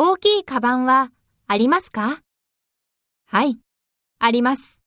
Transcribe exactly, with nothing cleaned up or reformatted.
大きいカバンはありますか？ はい、あります。